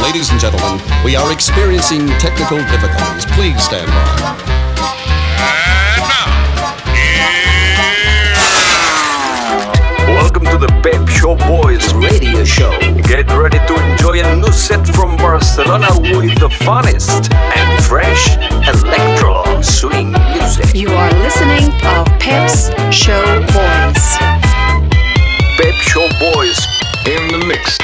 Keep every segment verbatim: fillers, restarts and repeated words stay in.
Ladies and gentlemen, we are experiencing technical difficulties. Please stand by. And now, Welcome to the Pep Show Boys radio show. Get ready to enjoy a new set from Barcelona with the funnest and fresh electro swing music. You are listening to Pep's Show Boys. Pep Show Boys in the mix.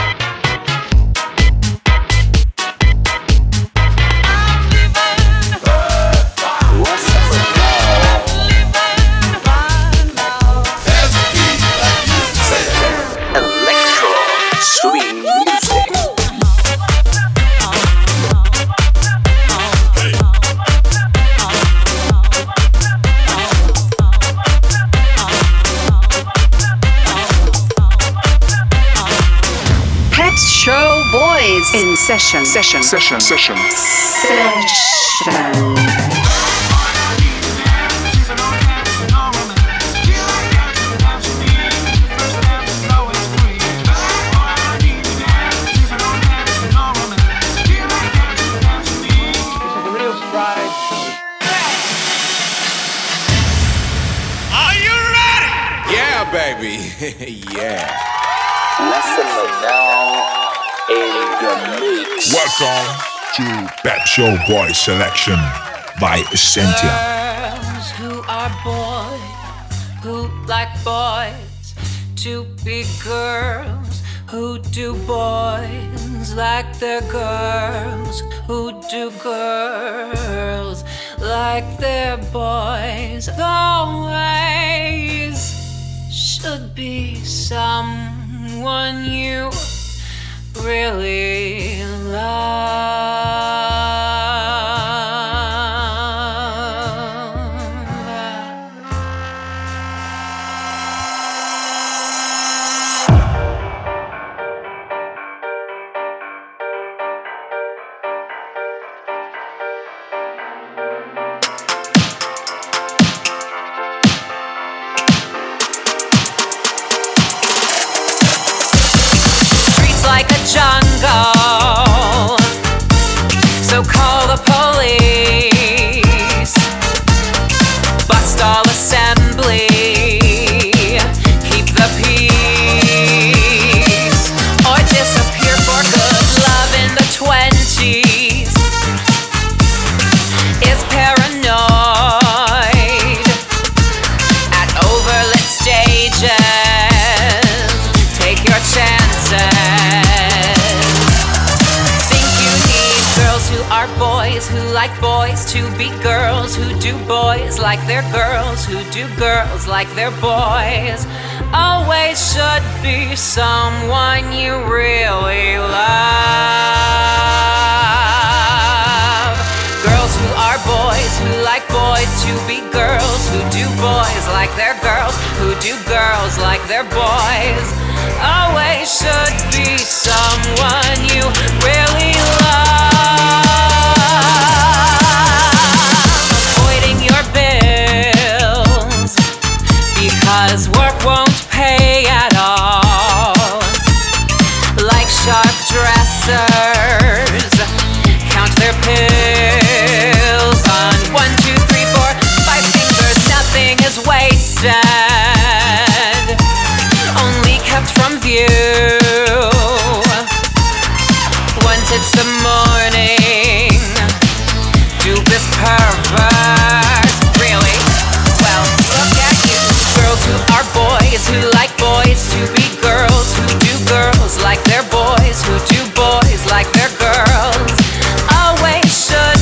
In session, session, session, session, session. are you ready? Yeah, baby. Yeah. Listen now. Welcome to Pep Show Boy Selection by Essentia. Girls who are boys, who like boys to be girls, who do boys like their girls, who do girls like their boys. Always should be someone you really love. Streets like a jungle, so call the police. Bust all assembly, keep the peace, or disappear for good. Love in the twenties is paranoid at overlit stages. Take your chances. Think you need girls who are boys, who like boys to be girls, who do boys like their girls, who do girls like their boys. Always should be someone you really love. Girls who are boys, who like boys to be girls, who do boys like their girls, who do girls like their boys. Always should be someone you really love. Avoiding your bills because work won't pay at all. Like sharp dressers, count their pills on one, two, three, four, five fingers. Nothing is wasted, only kept from view. Once it's the morning, do this perverse. Really? Well, look at you. Girls who are boys, who like boys to be girls, who do girls like their boys, who do boys like their girls. Always should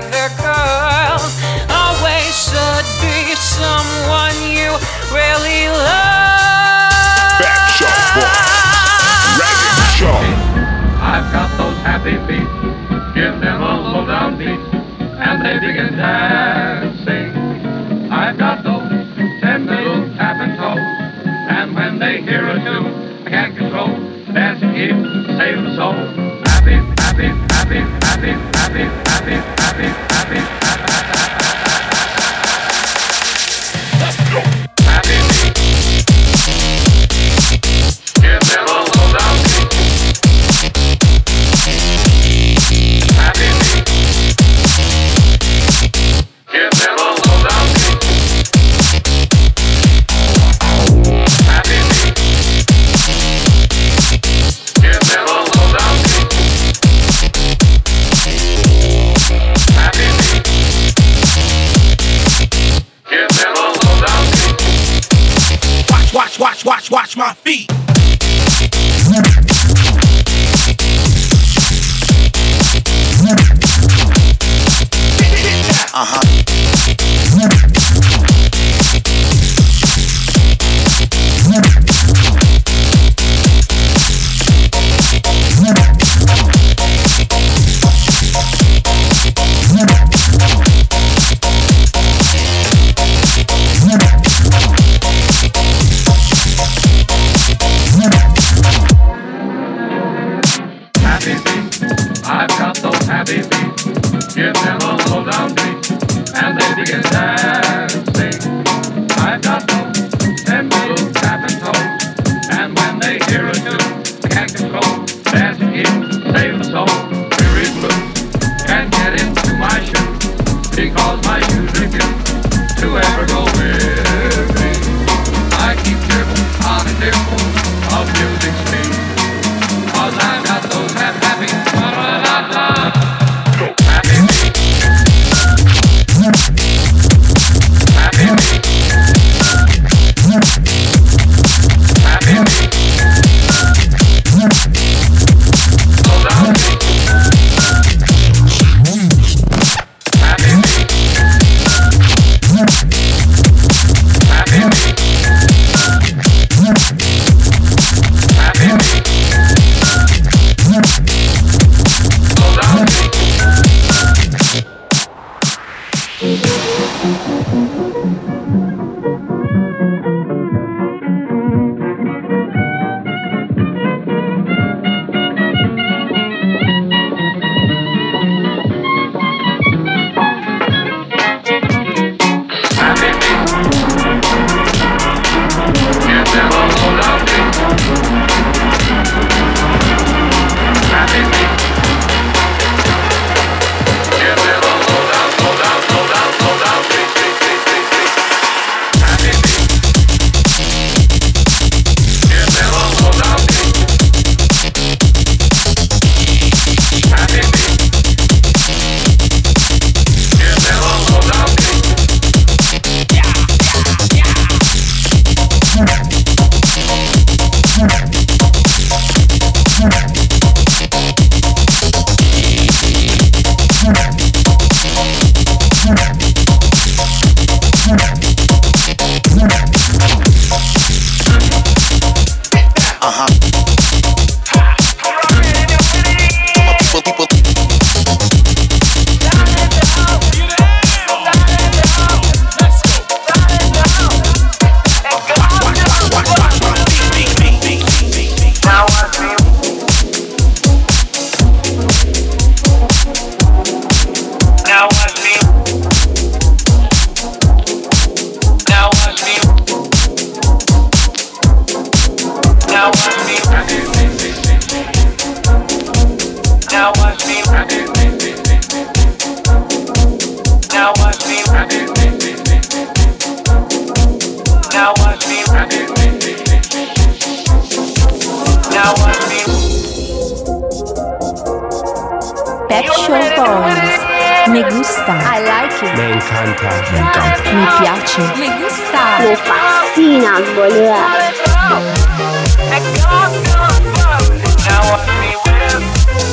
like their girls. Always should be someone you really love. Pet Shop Boys, Radio Show. I've got those happy feet, give them a low down beat, and they begin dancing. I've got those ten little tapping toes, and when they hear a tune, I can't control, the dancing keeps saving the soul. Happy, happy, happy, happy, happy, happy, happy, happy, happy. Let's go. Happy feet, give them a low down beat. Happy feet, give them a low down beat. Happy feet, give them a low down beat. Happy feet, give them a low down beat. Watch, watch, watch, watch, watch my feet. Uh-huh. Happy feet, I've got those happy feet. Give them a low down beat, and they begin dancing. I've got those ten little tapping toes, and when they hear a tune, I can't control, dancing keeps saving the soul. Weary blue, can't get into my shoes, because my shoes refuse to ever go with me. I keep dribble on a dimple of music's speed, 'cause I've got those happy, happy, la-la-la-la. Happy feet, happy feet, happy feet, slow down feet, happy feet, happy feet, happy feet, slow down feet. Happy feet, give them a low down beat. Happy feet, give them a low down, low down, low down, low down beat, beat, beat, beat, beat. Happy feet, give them a low down beat. Happy feet, give them a low down beat. Uh-huh. People, people. Now watch me. Now watch me. Now watch me. Now watch me. Now watch me. Now watch me. Now watch me. Now watch me. Pet Shop Boys. Me gusta. I like it. Me encanta. Me encanta. Mi piace. Me gusta. Mi fascina, boludo. Now watch me whip.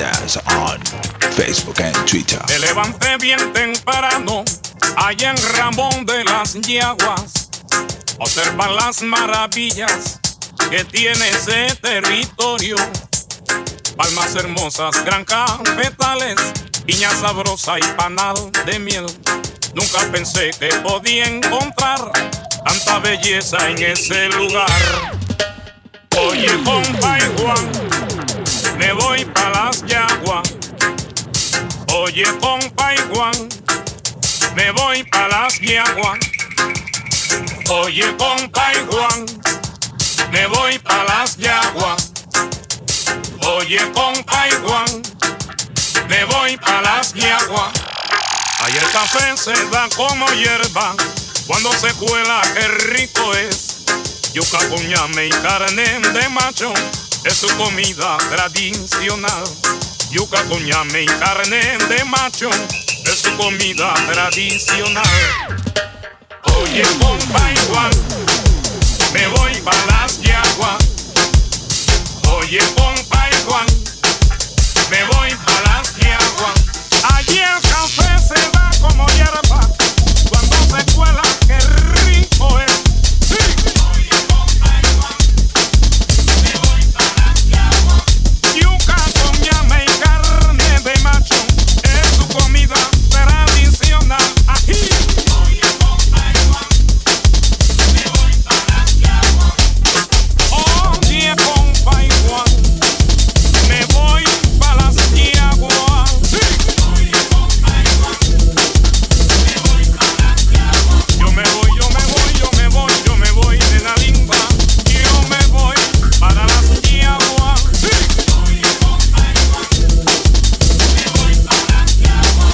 us on Facebook and Twitter. Me levanté bien temprano, allá en Ramón de las Yaguas, observar las maravillas que tiene ese territorio. Palmas hermosas, gran cafetales, piña sabrosa y panal de miel. Nunca pensé que podía encontrar tanta belleza en ese lugar. Oye, compa y Juan, me voy pa' las Yaguas. Oye, compa y Juan, me voy pa' las Yaguas. Oye, compa y Juan, me voy pa' las Yaguas. Oye, compa y Juan, me voy pa' las Yaguas. Ahí el café se da como hierba, cuando se cuela qué rico es. Yuca con ñame y carne de macho es su comida tradicional. Yuca con ñame y carne de macho es su comida tradicional. Oye, compa y Juan, me voy pa' las Yaguas. Oye, compa y Juan, me voy pa' las Yaguas. Allí el café se da como hierba, cuando se cuela qué rico es. Sí. Oye, compa y Juan, me voy pa' las Yaguas. Yuca con ñame y carne de macho es su comida tradicional. Ají. Oye, compa y Juan, me voy pa' las Yaguas. Oye, compa y Juan, me voy pa' las Yaguas. Sí. Oye, compa y Juan, me voy pa' las Yaguas. Yo me voy, yo me voy, yo me voy, yo me voy de la limba. Yo me voy para las Yaguas. Sí. Oye, compa y Juan, me voy para las Yaguas.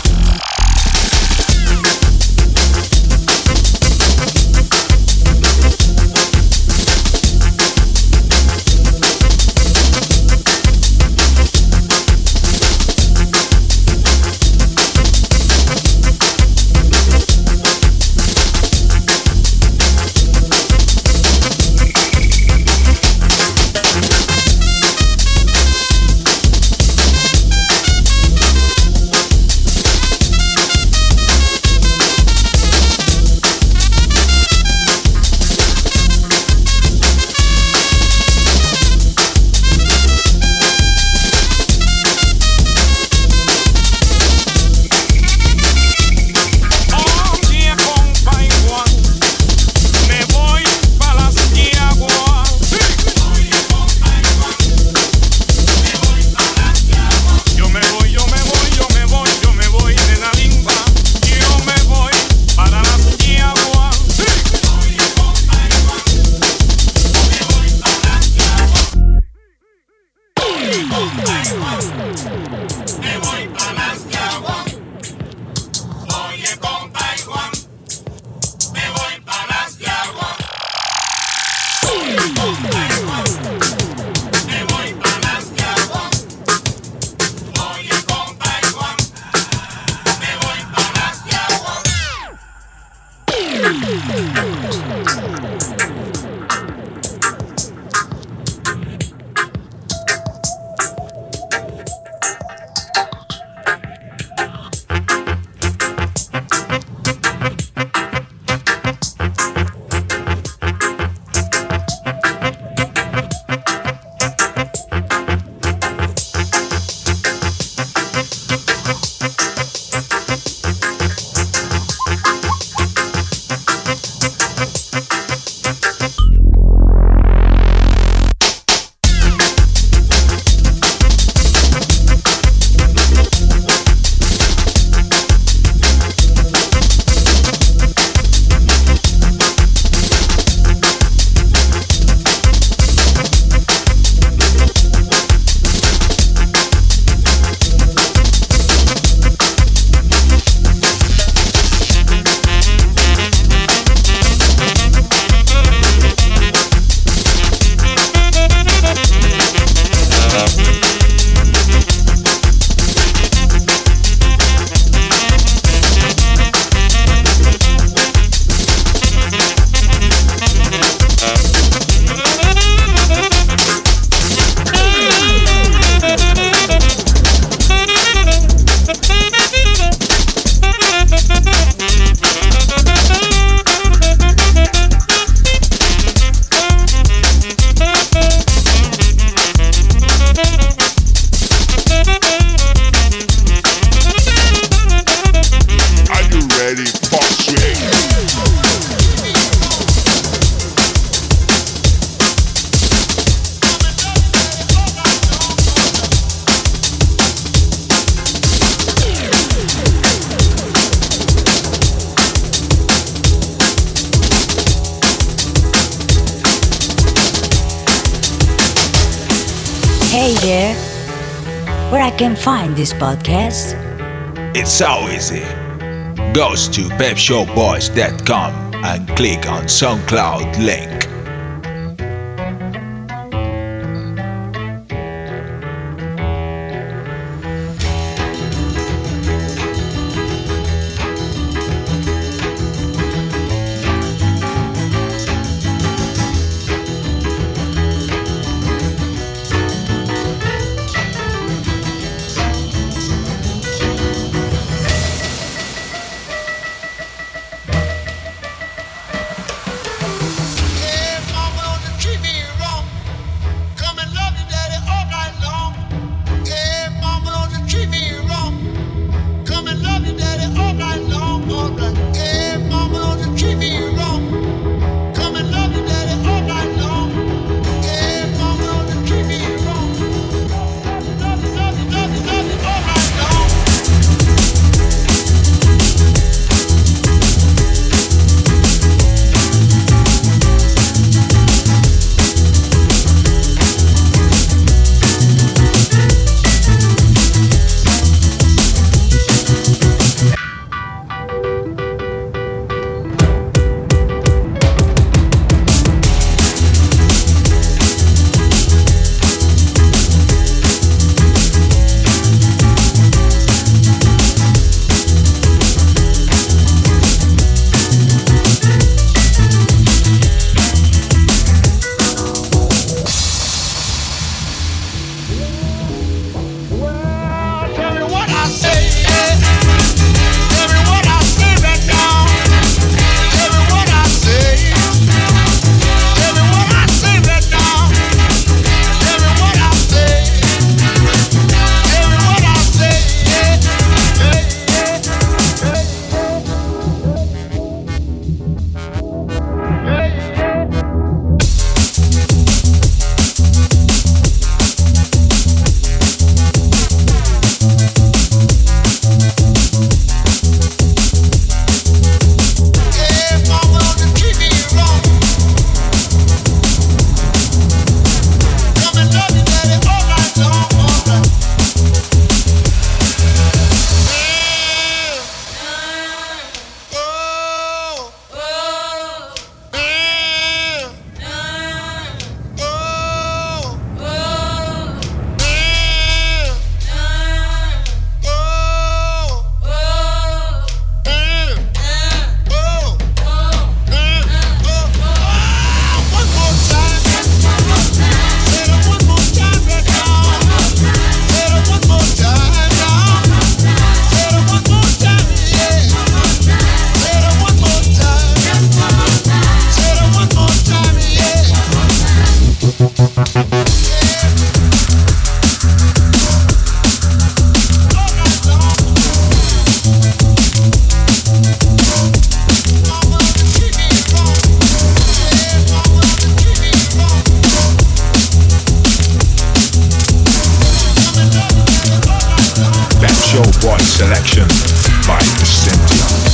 Oye, compa y Juan, me voy pa' las Yaguas. Sí. Oye, compa y Juan, me voy pa' las Yaguas. Yo me voy, yo me voy, yo me voy, yo me voy de la limba. Yo me voy para las Yaguas. Sí. Oye, compa y Juan, me voy pa' las Yaguas. Oye, compa y Juan, me voy pa' las Yaguas. Oye, compa y Juan, me voy pa' las Yaguas. Oye, compa y Juan, me voy pa' las Yaguas. Oye, compa y Juan, me voy pa' las Yaguas. Hey there, where I can find this podcast? It's so easy. Go to pep show boys dot com and click on SoundCloud link. Selection by Essentia.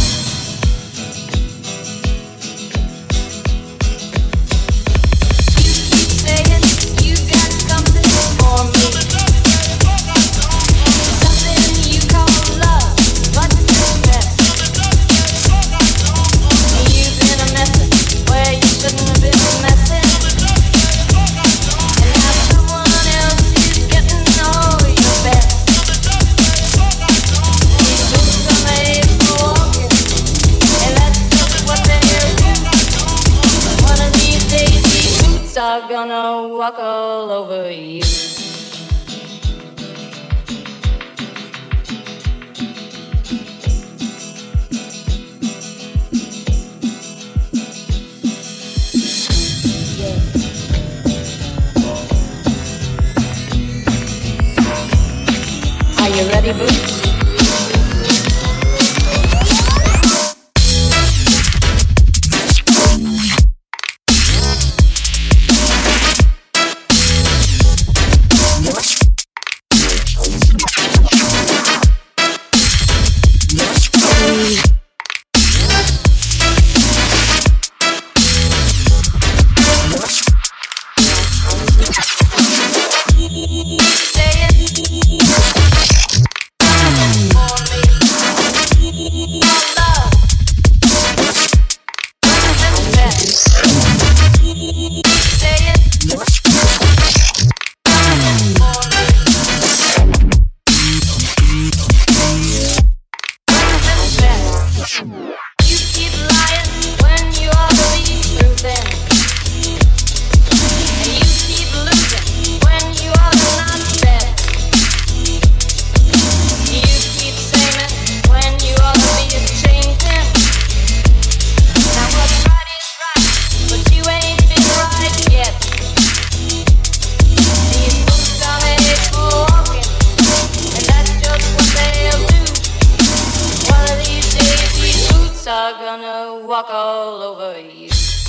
Are gonna walk all over you. Are you ready, Boots? all over you.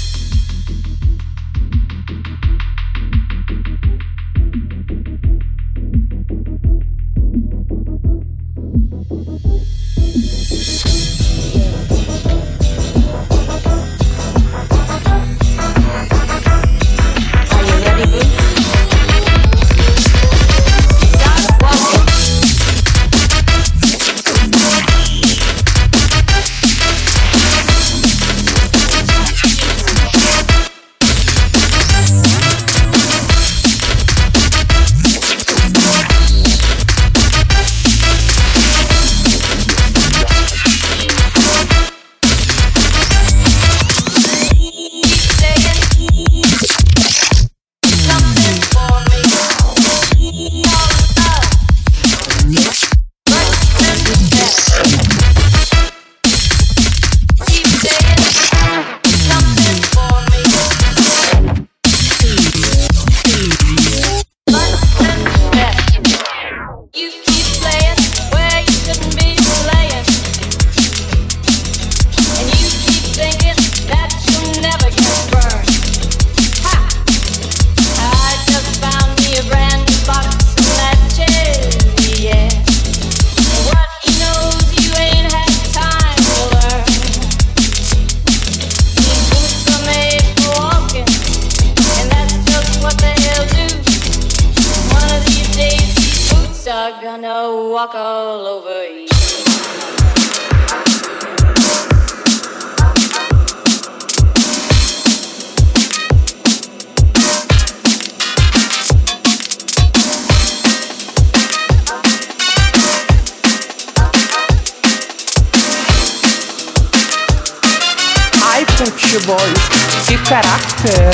Boys, que caráter!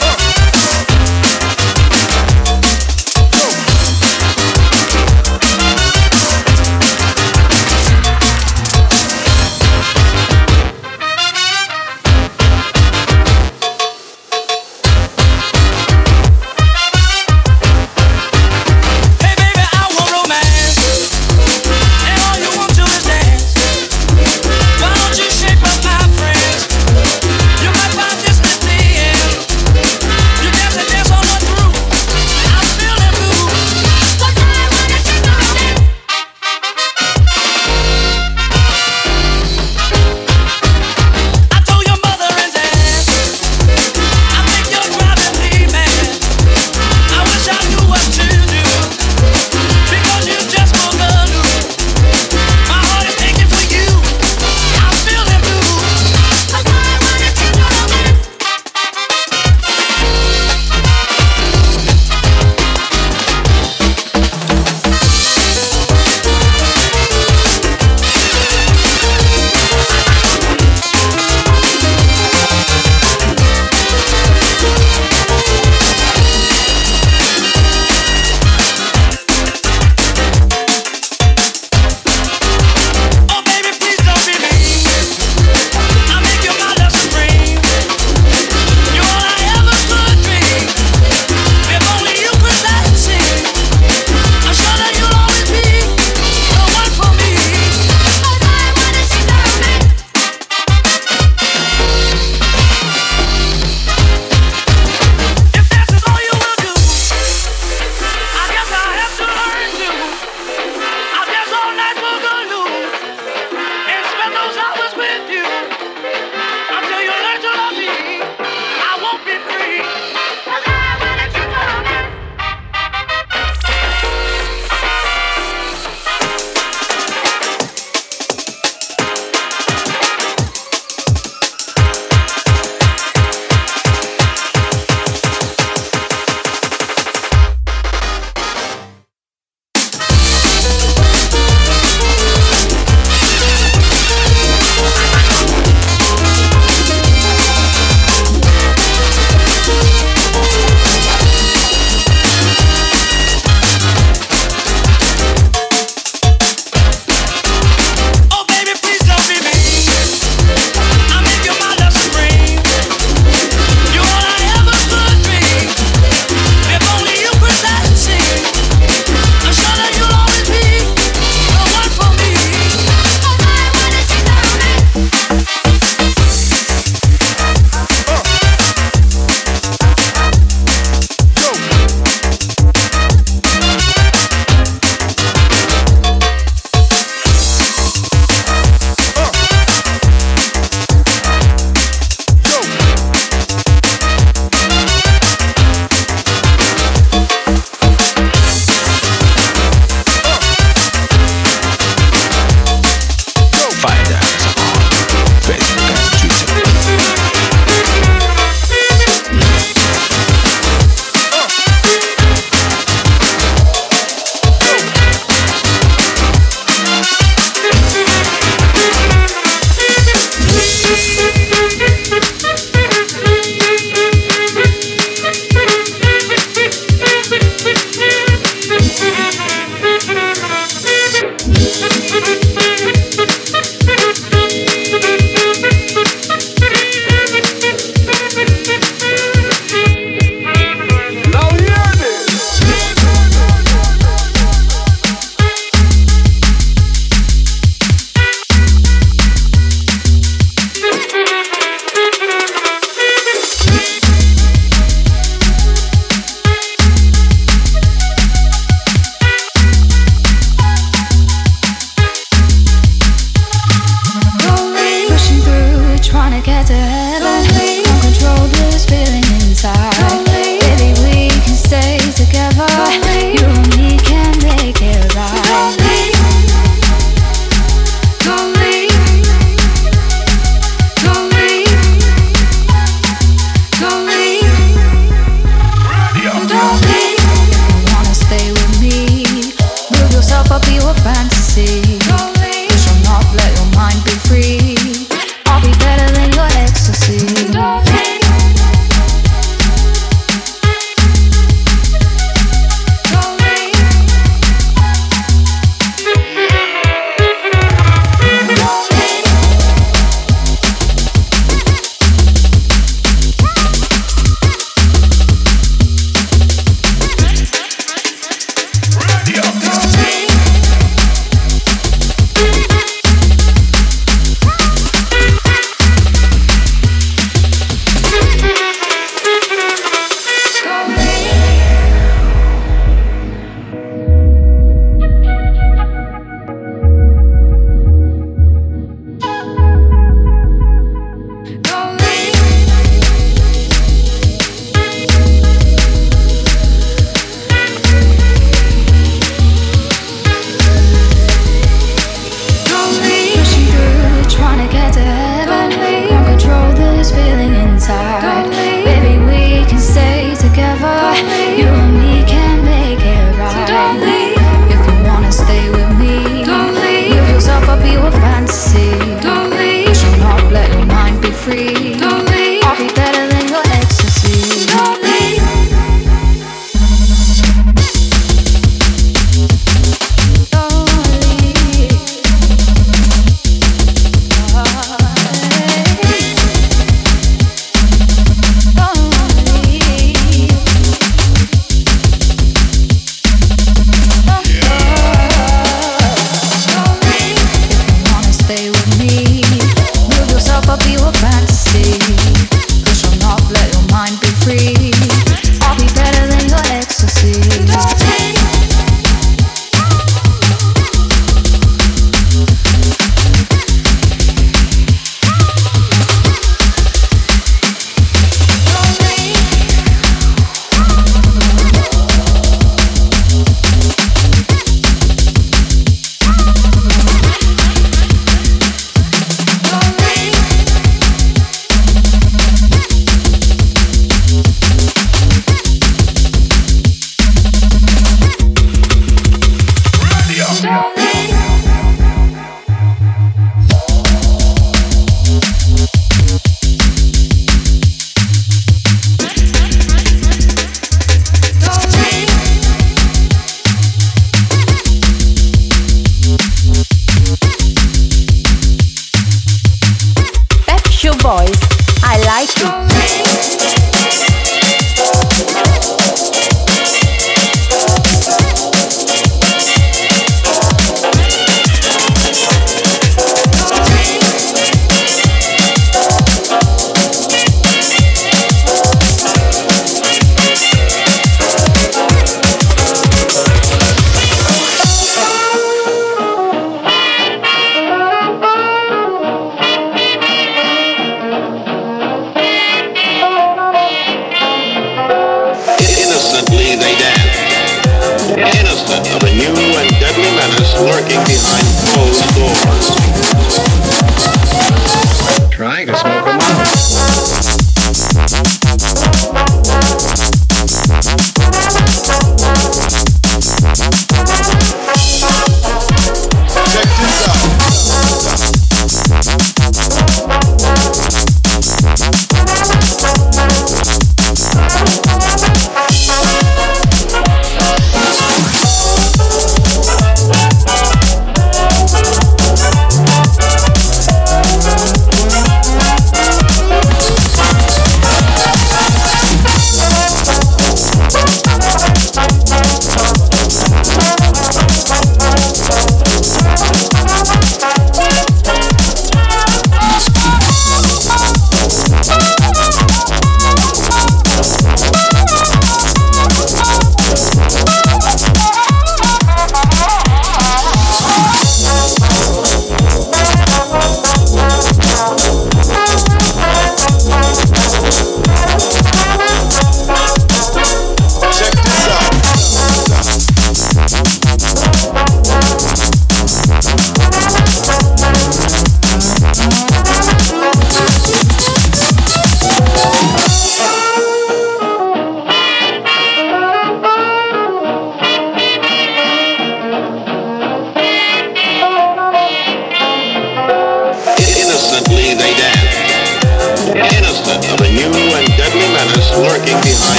Oh! fantasy. You shall not let your mind be free. I'll be better than your ecstasy.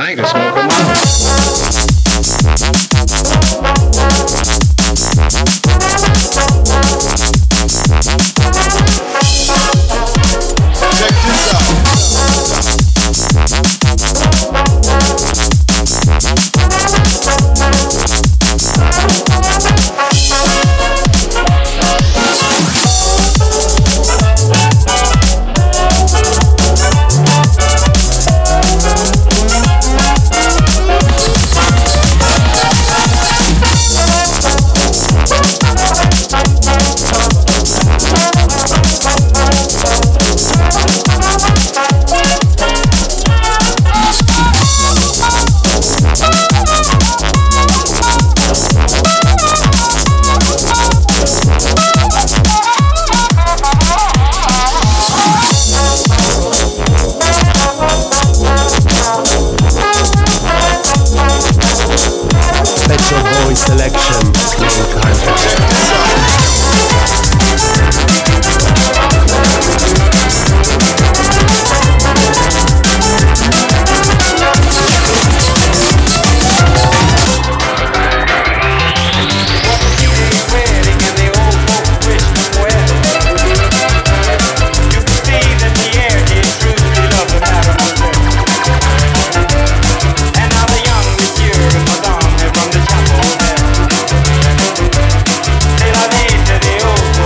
like to smoke them out. Check this out. Selection, main content. From the chapel there. Say la vie to the old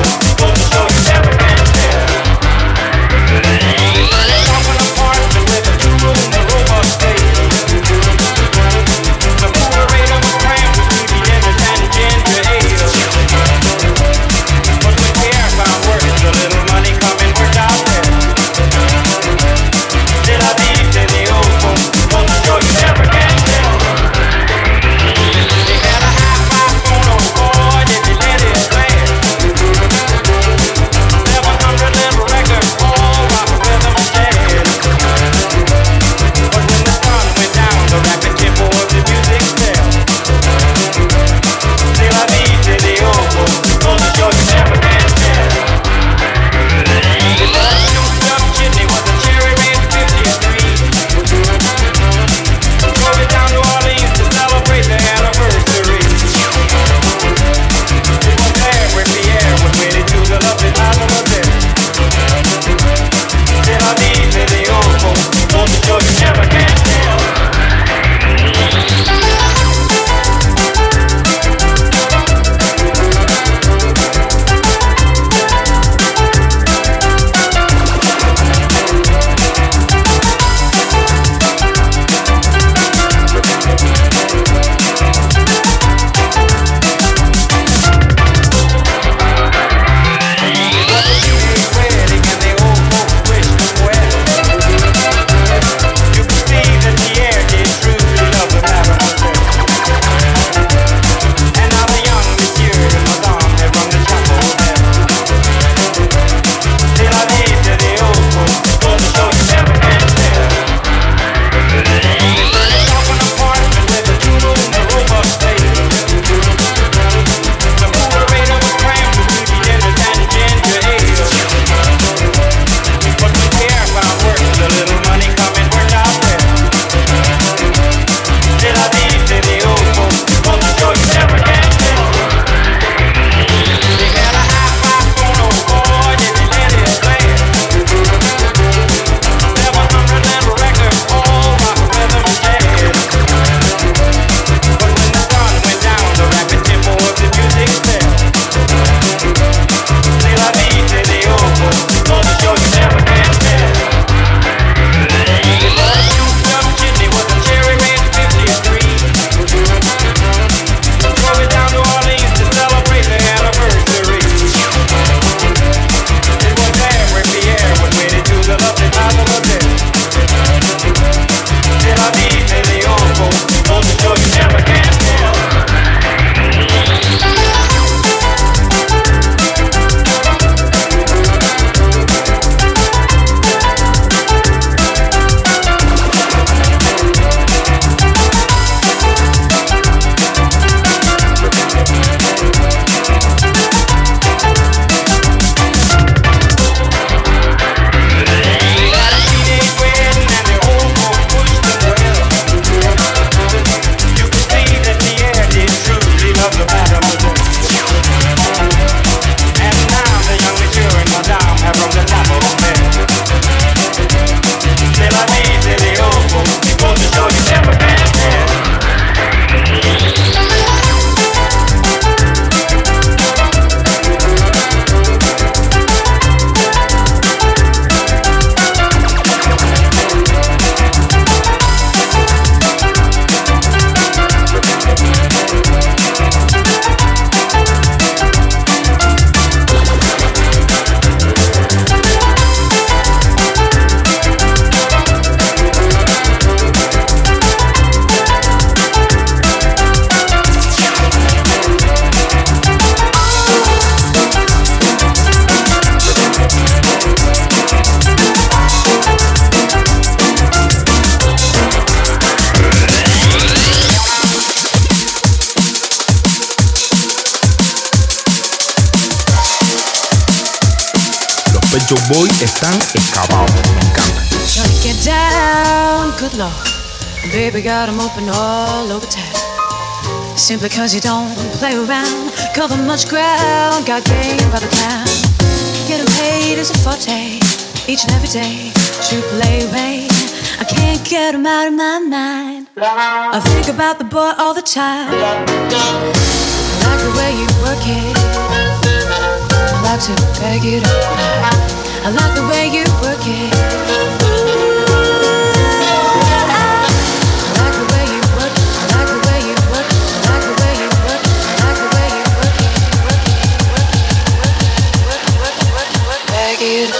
boys están excavados. Me encanta. Trying to get down, good lord. Baby got 'em open all over town. Simply cause you don't play around, cover much ground, got game by the pound. Getting paid is a forte, each and every day, triple A rate. I can't get 'em out of my mind. I think about the boy all the time. I like the way you work it, I like to bag it up. I like the way you work it. It.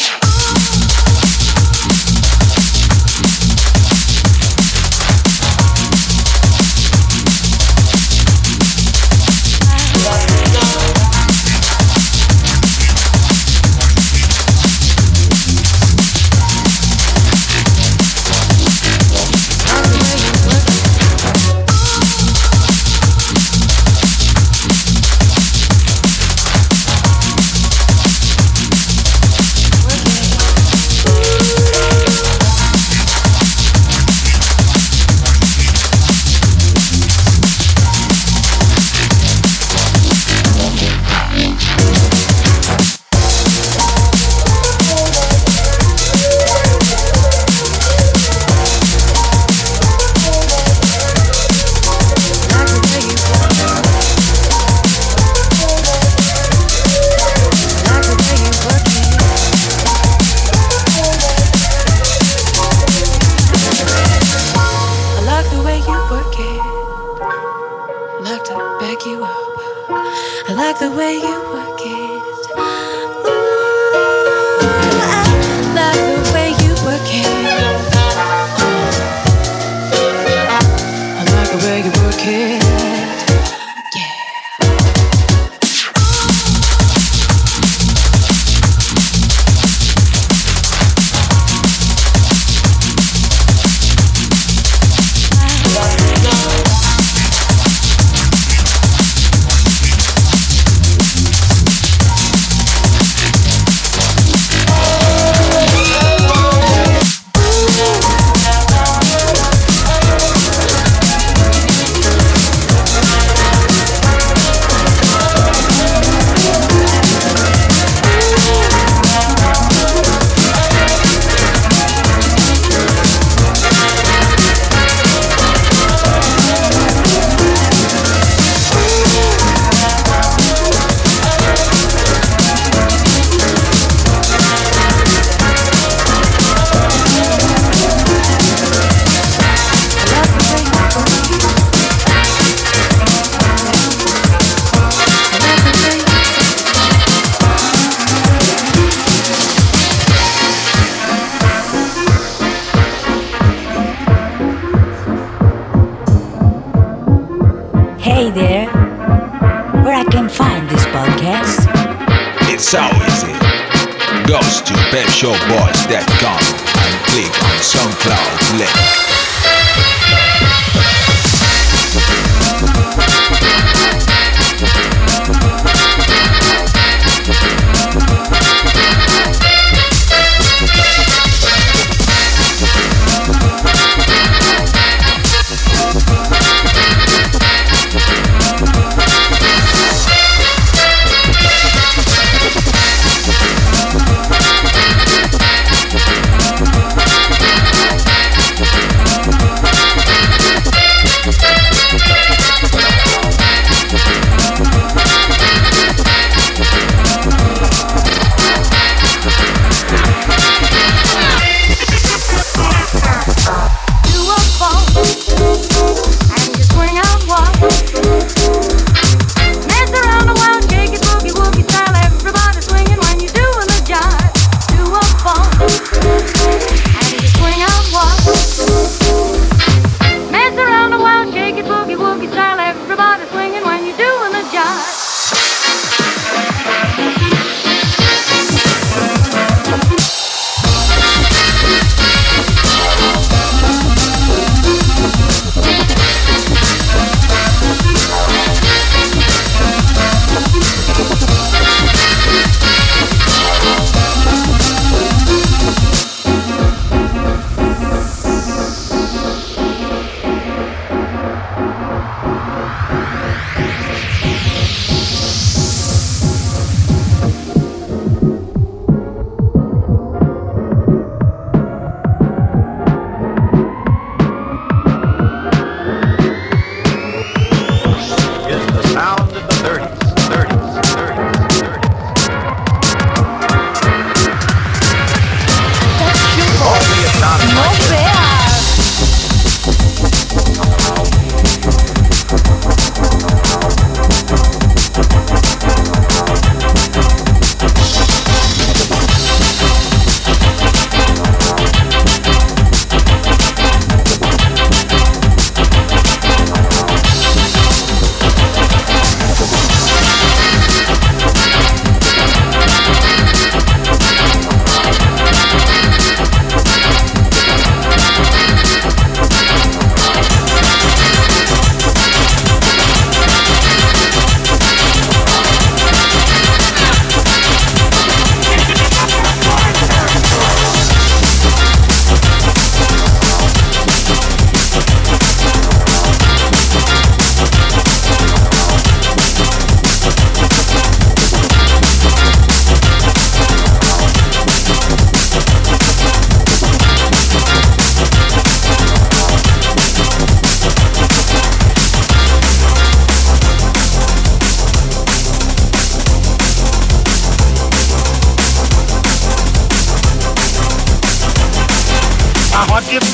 Hey there, where I can find this podcast? It's so easy. Goes to pep show boys dot com and click on SoundCloud link.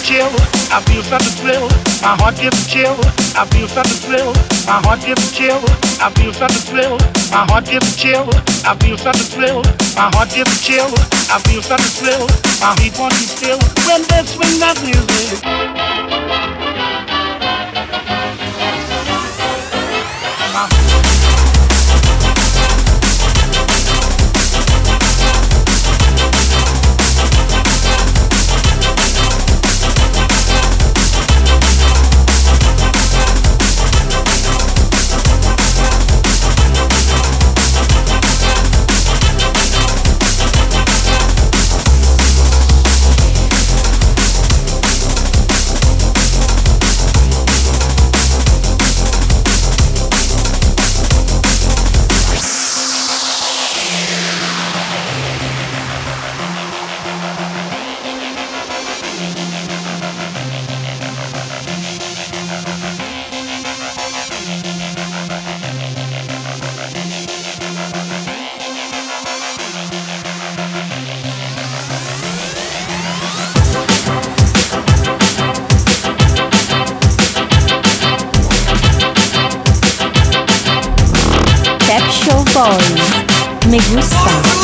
chill. I feel such a thrill. My heart gives a chill. I feel such a thrill. My heart gives a chill. I feel such a thrill. My heart gives a chill. I feel such a thrill. My heart gives a chill. I feel such a thrill. My heat wants to still when they swing that music. Pep Show Boys. Me gusta.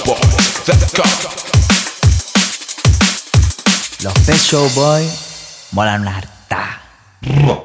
Los Pet Show Boys Mola una harta.